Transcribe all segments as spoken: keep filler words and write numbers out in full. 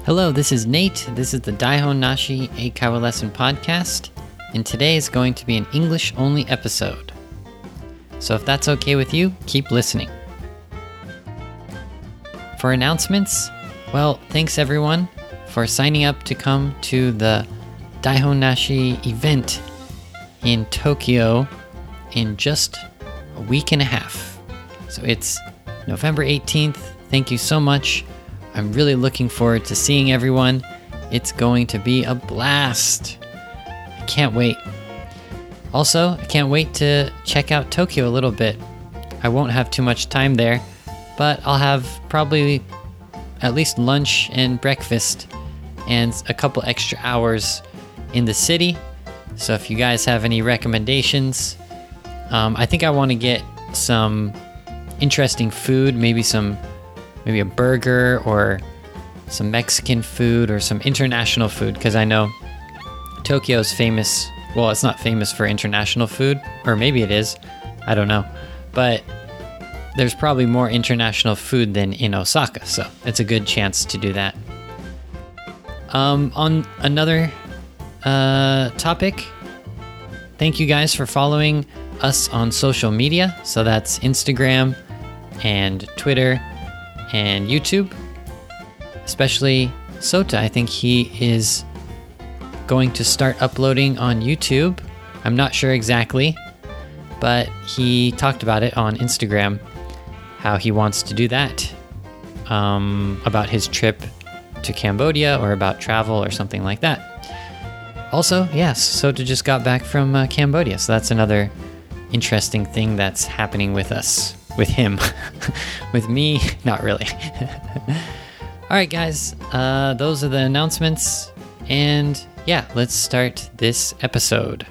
Hello, this is Nate. This is the Daihon Nashi Eikaiwa Lesson Podcast, and today is going to be an English-only episode. So if that's okay with you, keep listening. For announcements, well, thanks everyone for signing up to come to the Daihon Nashi event in Tokyo in just a week and a half. So it's November eighteenth. Thank you so much. I'm really looking forward to seeing everyone. It's going to be a blast. I can't wait. Also, I can't wait to check out Tokyo a little bit. I won't have too much time there, but I'll have probably at least lunch and breakfast and a couple extra hours in the city. So if you guys have any recommendations, um, I think I want to get some interesting food, maybe some maybe a burger or some Mexican food or some international food, because I know Tokyo is famous. Well, it's not famous for international food, or maybe it is. I don't know. But there's probably more international food than in Osaka, so it's a good chance to do that. Um, on another uh, topic, thank you guys for following us on social media. So that's Instagram and Twitter and YouTube, especially Sota. I think he is going to start uploading on YouTube. I'm not sure exactly, but he talked about it on Instagram, how he wants to do that, um, about his trip to Cambodia or about travel or something like that. Also, yes, Sota just got back from uh, Cambodia, so that's another interesting thing that's happening with us. With him. With me, not really. Alright guys, uh, those are the announcements, and yeah, let's start this episode.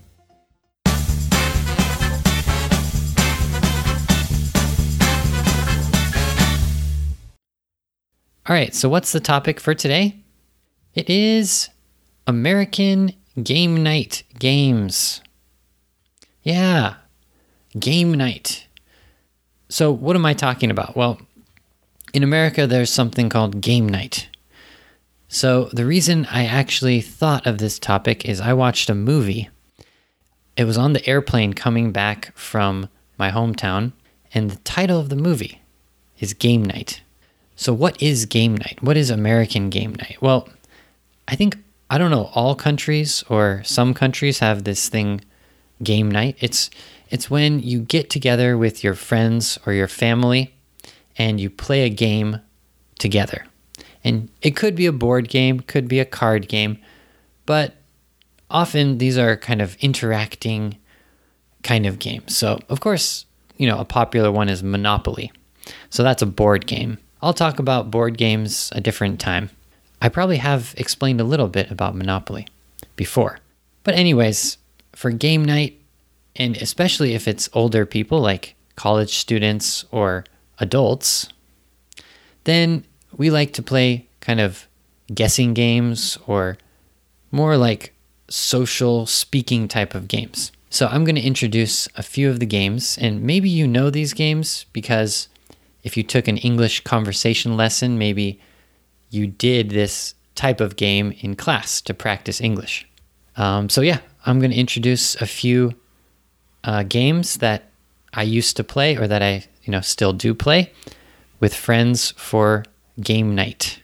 Alright, so what's the topic for today? It is American Game Night games. Yeah, game night. So what am I talking about? Well, in America, there's something called game night. So the reason I actually thought of this topic is I watched a movie. It was on the airplane coming back from my hometown, and the title of the movie is Game Night. So what is game night? What is American game night? Well, I think, I don't know, all countries or some countries have this thing, game night. It's It's when you get together with your friends or your family and you play a game together. And it could be a board game, could be a card game, but often these are kind of interacting kind of games. So, of course, you know, a popular one is Monopoly. So that's a board game. I'll talk about board games a different time. I probably have explained a little bit about Monopoly before. But anyways, for game night, and especially if it's older people like college students or adults, then we like to play kind of guessing games or more like social speaking type of games. So I'm going to introduce a few of the games, and maybe you know these games because if you took an English conversation lesson, maybe you did this type of game in class to practice English. Um, so yeah, I'm going to introduce a few Uh, games that I used to play or that I, you know, still do play with friends for game night.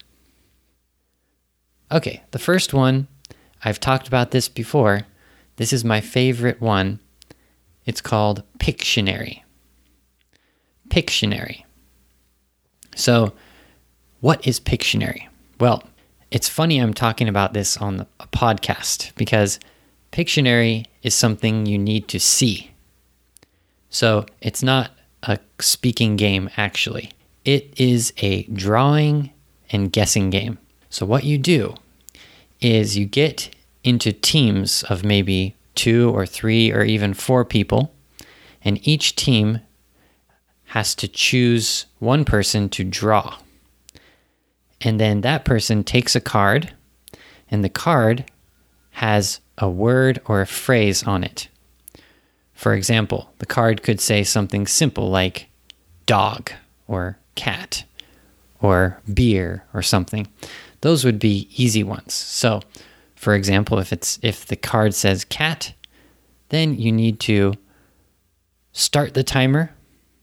Okay, the first one, I've talked about this before. This is my favorite one. It's called Pictionary. Pictionary. So, what is Pictionary? Well, it's funny I'm talking about this on a podcast because Pictionary is something you need to see. So it's not a speaking game, actually. It is a drawing and guessing game. So what you do is you get into teams of maybe two or three or even four people, and each team has to choose one person to draw. And then that person takes a card, and the card has a word or a phrase on it. For example, the card could say something simple like dog or cat or beer or something. those would be easy ones. So, for example, if it's if the card says cat, then you need to start the timer,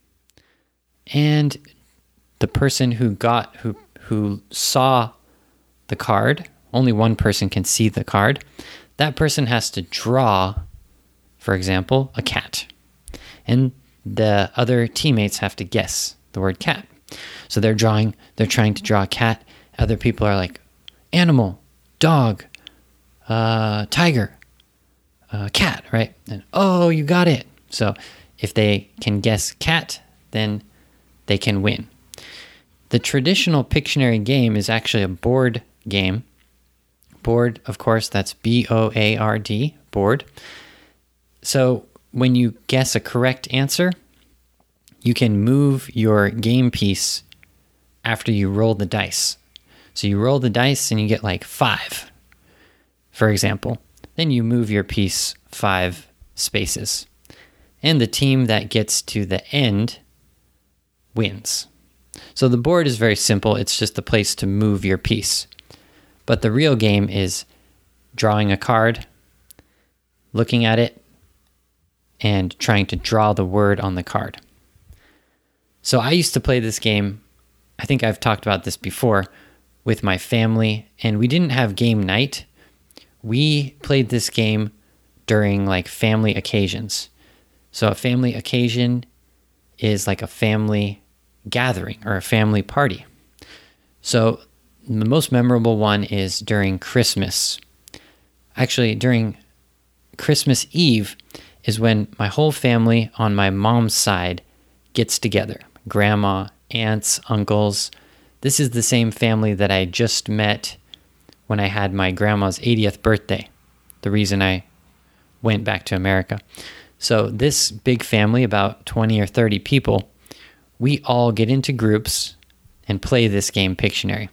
and the person who got who who saw the card, only one person can see the card. That person has to draw, for example, a cat. And the other teammates have to guess the word cat. So they're drawing, they're trying to draw a cat. Other people are like, animal, dog, uh, tiger, uh, cat, right? And, oh, you got it. So if they can guess cat, then they can win. The traditional Pictionary game is actually a board game. Board, of course, that's B O A R D, board. So when you guess a correct answer, you can move your game piece after you roll the dice. So you roll the dice and you get like five, for example. Then you move your piece five spaces. And the team that gets to the end wins. So the board is very simple. It's just a place to move your piece. But the real game is drawing a card, looking at it, and trying to draw the word on the card. So I used to play this game, I think I've talked about this before, with my family, and we didn't have game night. We played this game during like family occasions. So a family occasion is like a family gathering or a family party. So the most memorable one is during Christmas. Actually, during Christmas Eve is when my whole family on my mom's side gets together. Grandma, aunts, uncles. This is the same family that I just met when I had my grandma's eightieth birthday, the reason I went back to America. So this big family, about twenty or thirty people, we all get into groups and play this game, Pictionary.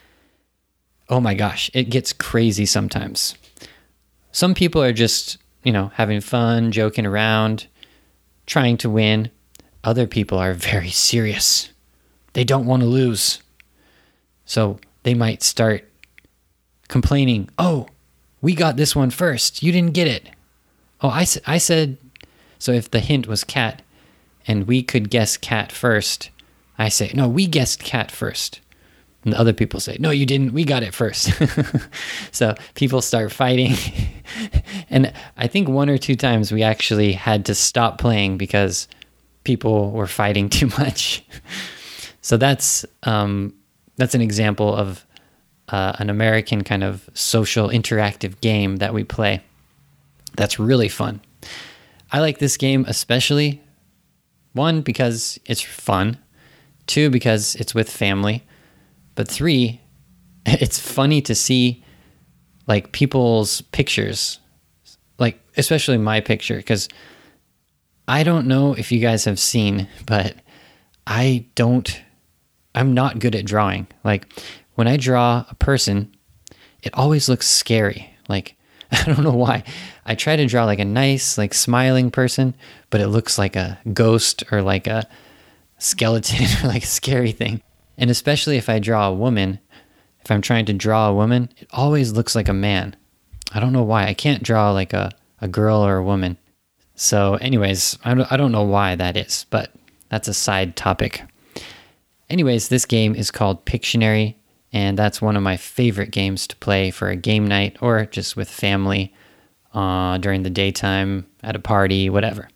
Oh my gosh, it gets crazy sometimes. Some people are just, you know, having fun, joking around, trying to win. Other people are very serious. They don't want to lose. So they might start complaining, oh, we got this one first. You didn't get it. Oh, I, I said, so if the hint was cat and we could guess cat first, I say, no, we guessed cat first. And the other people say, no, you didn't. We got it first. So people start fighting. And I think one or two times we actually had to stop playing because people were fighting too much. So that's um, that's an example of uh, an American kind of social interactive game that we play. That's really fun. I like this game especially, one, because it's fun, two, because it's with family, but three, it's funny to see like people's pictures, like especially my picture, because I don't know if you guys have seen, but I don't, I'm not good at drawing. Like when I draw a person, it always looks scary. Like, I don't know why. I try to draw like a nice, like smiling person, but it looks like a ghost or like a skeleton or like a scary thing. And especially if I draw a woman, if I'm trying to draw a woman, it always looks like a man. I don't know why. I can't draw like a, a girl or a woman. So anyways, I don't, I don't know why that is, but that's a side topic. Anyways, this game is called Pictionary, and that's one of my favorite games to play for a game night or just with family uh, during the daytime, at a party, whatever.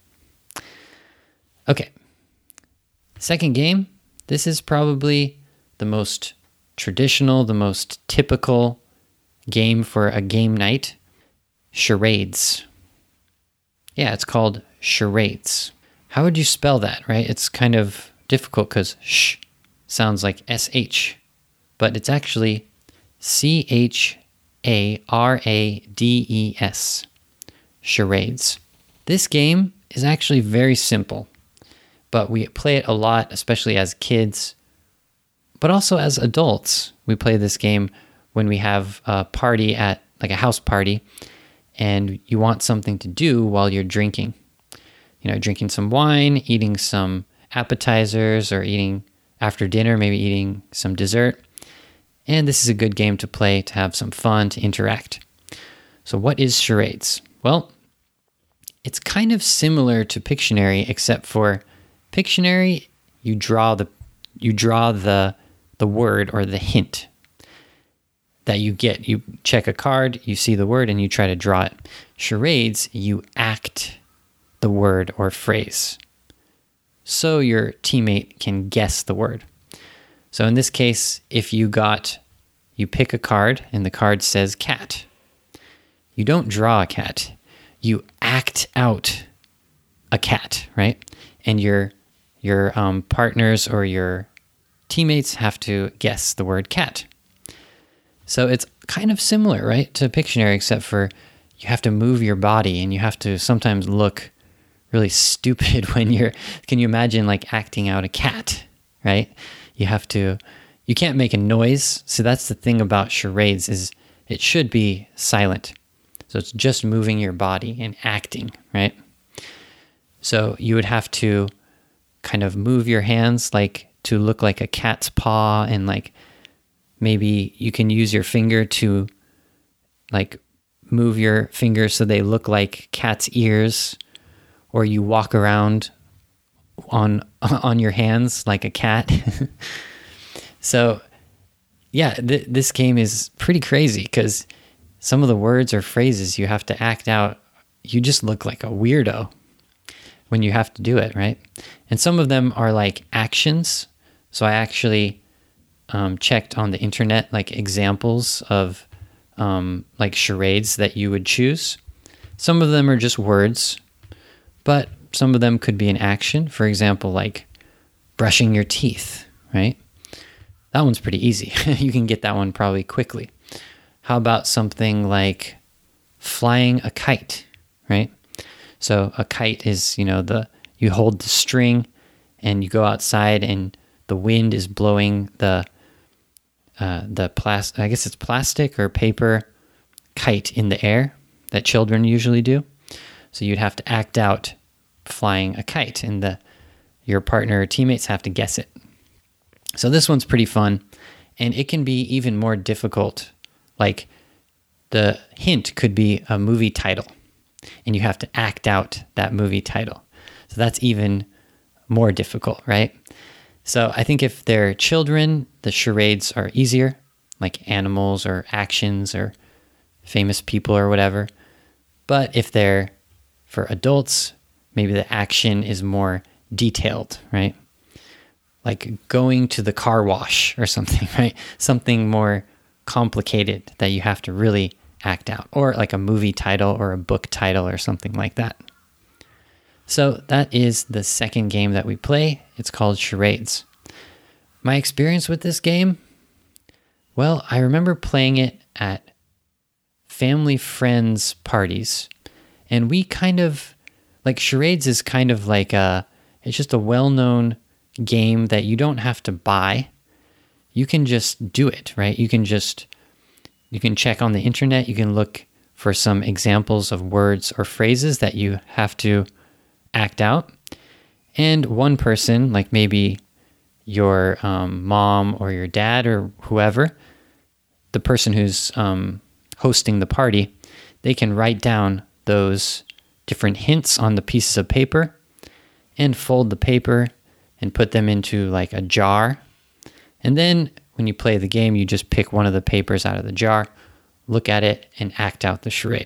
Okay. Second game. This is probably the most traditional, the most typical game for a game night. Charades. Yeah, it's called charades. How would you spell that, right? It's kind of difficult because sh sounds like S H, but it's actually C H A R A D E S. Charades. This game is actually very simple, but we play it a lot, especially as kids, but also as adults. We play this game when we have a party at, like a house party, and you want something to do while you're drinking. You know, drinking some wine, eating some appetizers, or eating after dinner, maybe eating some dessert. And this is a good game to play, to have some fun, to interact. So what is charades? Well, it's kind of similar to Pictionary, except for Pictionary, you draw the you draw the the word or the hint that you get. You check a card, you see the word, and you try to draw it. Charades, you act the word or phrase, so your teammate can guess the word. So in this case, if you got, you pick a card and the card says cat. You don't draw a cat. You act out a cat, right? And your your um, partners or your teammates have to guess the word cat. So it's kind of similar, right, to Pictionary, except for you have to move your body and you have to sometimes look really stupid when you're, can you imagine like acting out a cat, right? You have to, you can't make a noise. So that's the thing about charades, is it should be silent. So it's just moving your body and acting, right? So you would have to kind of move your hands like to look like a cat's paw, and like maybe you can use your finger to like move your fingers so they look like cat's ears, or you walk around on on your hands like a cat. So yeah, th- this game is pretty crazy because some of the words or phrases you have to act out, you just look like a weirdo when you have to do it, right? And some of them are like actions. So I actually um, checked on the internet like examples of um, like charades that you would choose. Some of them are just words, but some of them could be an action. For example, like brushing your teeth, right? That one's pretty easy. You can get that one probably quickly. How about something like flying a kite, right? So a kite is, you know, the you hold the string and you go outside and the wind is blowing the uh, the plastic, I guess it's plastic or paper kite in the air that children usually do. So you'd have to act out flying a kite, and the your partner or teammates have to guess it. So this one's pretty fun, and it can be even more difficult. Like the hint could be a movie title, and you have to act out that movie title. So that's even more difficult, right? So I think if they're children, the charades are easier, like animals or actions or famous people or whatever. But if they're for adults, maybe the action is more detailed, right? Like going to the car wash or something, right? Something more complicated that you have to really act out, or like a movie title or a book title or something like that. So that is the second game that we play. It's called Charades. My experience with this game, well, I remember playing it at family friends parties, and we kind of, like Charades is kind of like a, it's just a well-known game that you don't have to buy. You can just do it, right? You can just, you can check on the internet, you can look for some examples of words or phrases that you have to act out. And one person, like maybe your um, mom or your dad or whoever, the person who's um, hosting the party, they can write down those different hints on the pieces of paper and fold the paper and put them into like a jar. And then when you play the game, you just pick one of the papers out of the jar, look at it, and act out the charade.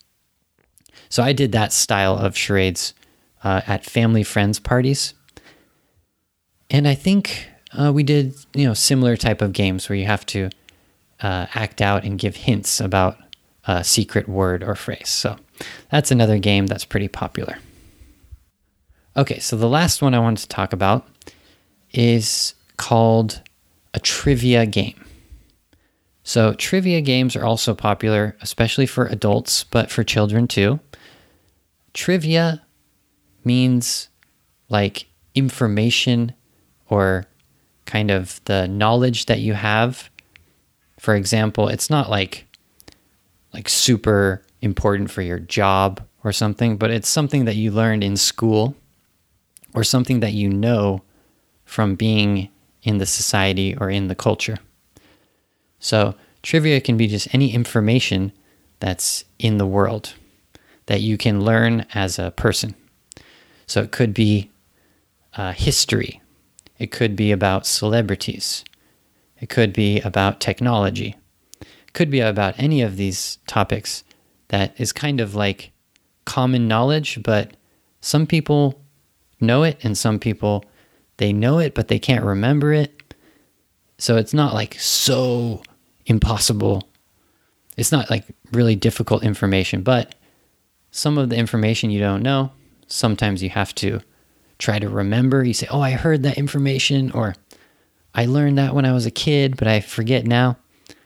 So I did that style of charades uh, at family friends parties. And I think uh, we did, you know, similar type of games where you have to uh, act out and give hints about a secret word or phrase. So that's another game that's pretty popular. Okay, so the last one I wanted to talk about is called a trivia game. So trivia games are also popular, especially for adults, but for children too. Trivia means like information or kind of the knowledge that you have. For example, it's not like like super important for your job or something, but it's something that you learned in school or something that you know from being in the society or in the culture. So trivia can be just any information that's in the world that you can learn as a person. So it could be uh, history. It could be about celebrities. It could be about technology. It could be about any of these topics that is kind of like common knowledge, but some people know it and some people, they know it, but they can't remember it. So it's not like so impossible. It's not like really difficult information, but some of the information you don't know, sometimes you have to try to remember. You say, oh, I heard that information, or I learned that when I was a kid, but I forget now.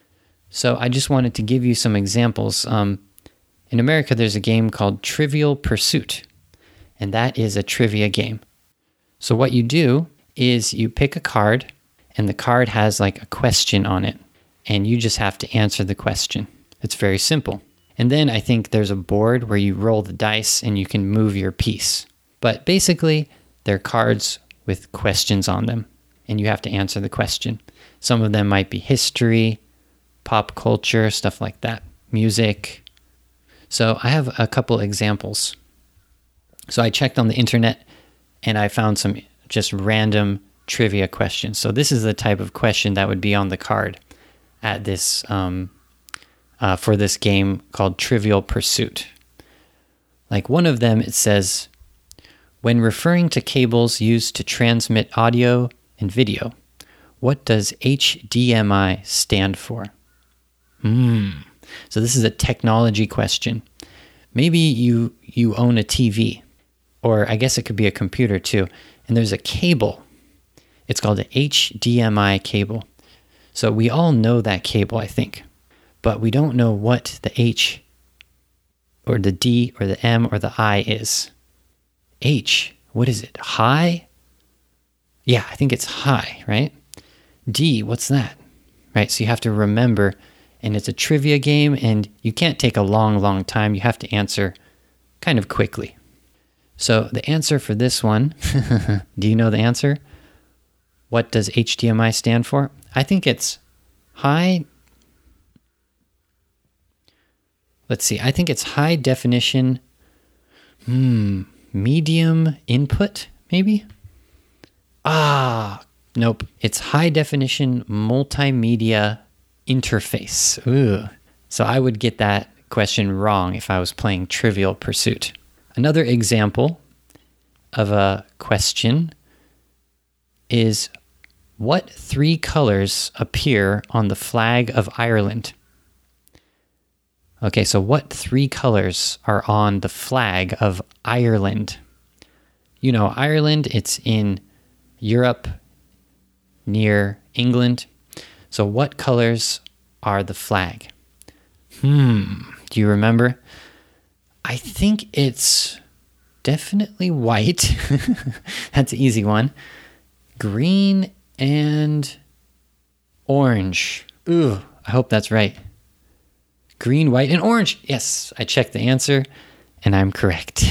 So I just wanted to give you some examples. Um, in America, there's a game called Trivial Pursuit, and that is a trivia game. So what you do is you pick a card, and the card has like a question on it, and you just have to answer the question. It's very simple. And then I think there's a board where you roll the dice and you can move your piece. But basically, they're cards with questions on them, and you have to answer the question. Some of them might be history, pop culture, stuff like that, music. So I have a couple examples. So I checked on the internet, and I found some just random trivia questions. So this is the type of question that would be on the card at this um, uh, for this game called Trivial Pursuit. Like one of them, it says, when referring to cables used to transmit audio and video, what does H D M I stand for? Hmm. So this is a technology question. Maybe you you own a T V, or I guess it could be a computer too, and there's a cable. It's called an H D M I cable. So we all know that cable, I think, but we don't know what the H or the D or the M or the I is. H, what is it? High? Yeah, I think it's high, right? D, what's that? Right, so you have to remember, and it's a trivia game, and you can't take a long, long time. You have to answer kind of quickly. So the answer for this one, do you know the answer? What does H D M I stand for? I think it's high. Let's see. I think it's high definition, hmm, medium input, maybe? Ah, nope. It's high definition multimedia interface. Ooh. So I would get that question wrong if I was playing Trivial Pursuit. Another example of a question is, what three colors appear on the flag of Ireland? Okay, so what three colors are on the flag of Ireland? You know, Ireland, it's in Europe, near England. So what colors are the flag? Hmm, do you remember? I think it's definitely white. That's an easy one. Green and orange. Ooh, I hope that's right. Green, white, and orange. Yes, I checked the answer, and I'm correct.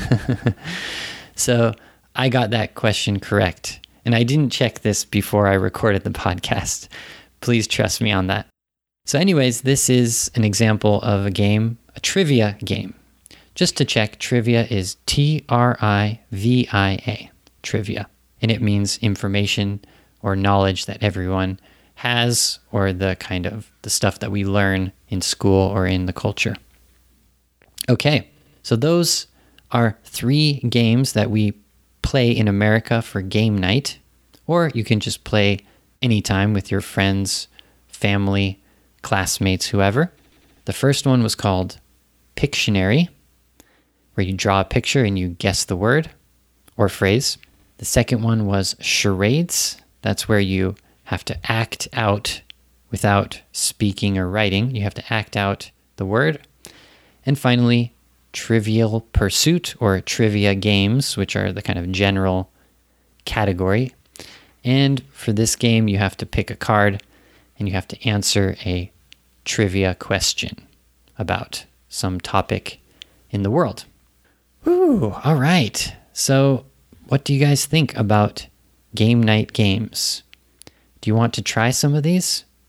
So I got that question correct. And I didn't check this before I recorded the podcast. Please trust me on that. So anyways, this is an example of a game, a trivia game. Just to check, trivia is T R I V I A, trivia. And it means information or knowledge that everyone has, or the kind of the stuff that we learn in school or in the culture. Okay, so those are three games that we play in America for game night, or you can just play anytime with your friends, family, classmates, whoever. The first one was called Pictionary, where you draw a picture and you guess the word or phrase. The second one was Charades. That's where you have to act out without speaking or writing. You have to act out the word. And finally, Trivial Pursuit, or trivia games, which are the kind of general category. And for this game, you have to pick a card and you have to answer a trivia question about some topic in the world. Woo, all right. So what do you guys think about game night games? Do you want to try some of these?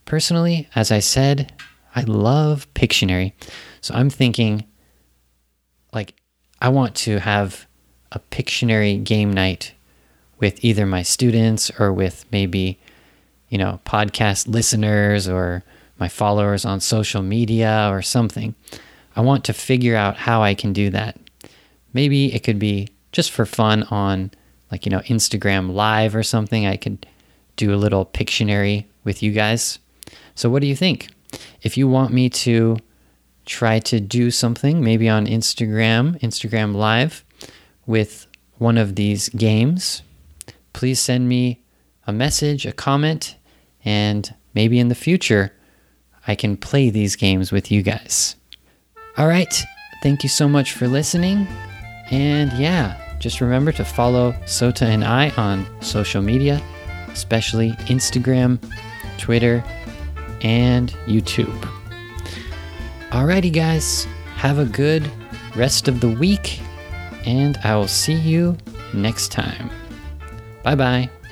personally, as I said, I love Pictionary. So I'm thinking, like, I want to have a Pictionary game night with either my students or with maybe, you know, podcast listeners or my followers on social media or something. I want to figure out how I can do that. Maybe it could be just for fun on, like, you know, Instagram Live or something. I could do a little Pictionary with you guys. So what do you think? If you want me to try to do something, maybe on Instagram, Instagram Live, with one of these games, please send me a message, a comment, and maybe in the future, I can play these games with you guys. All right. Thank you so much for listening. And yeah, just remember to follow Sota and I on social media, especially Instagram, Twitter, and YouTube. Alrighty, guys. Have a good rest of the week, and I will see you next time. Bye-bye.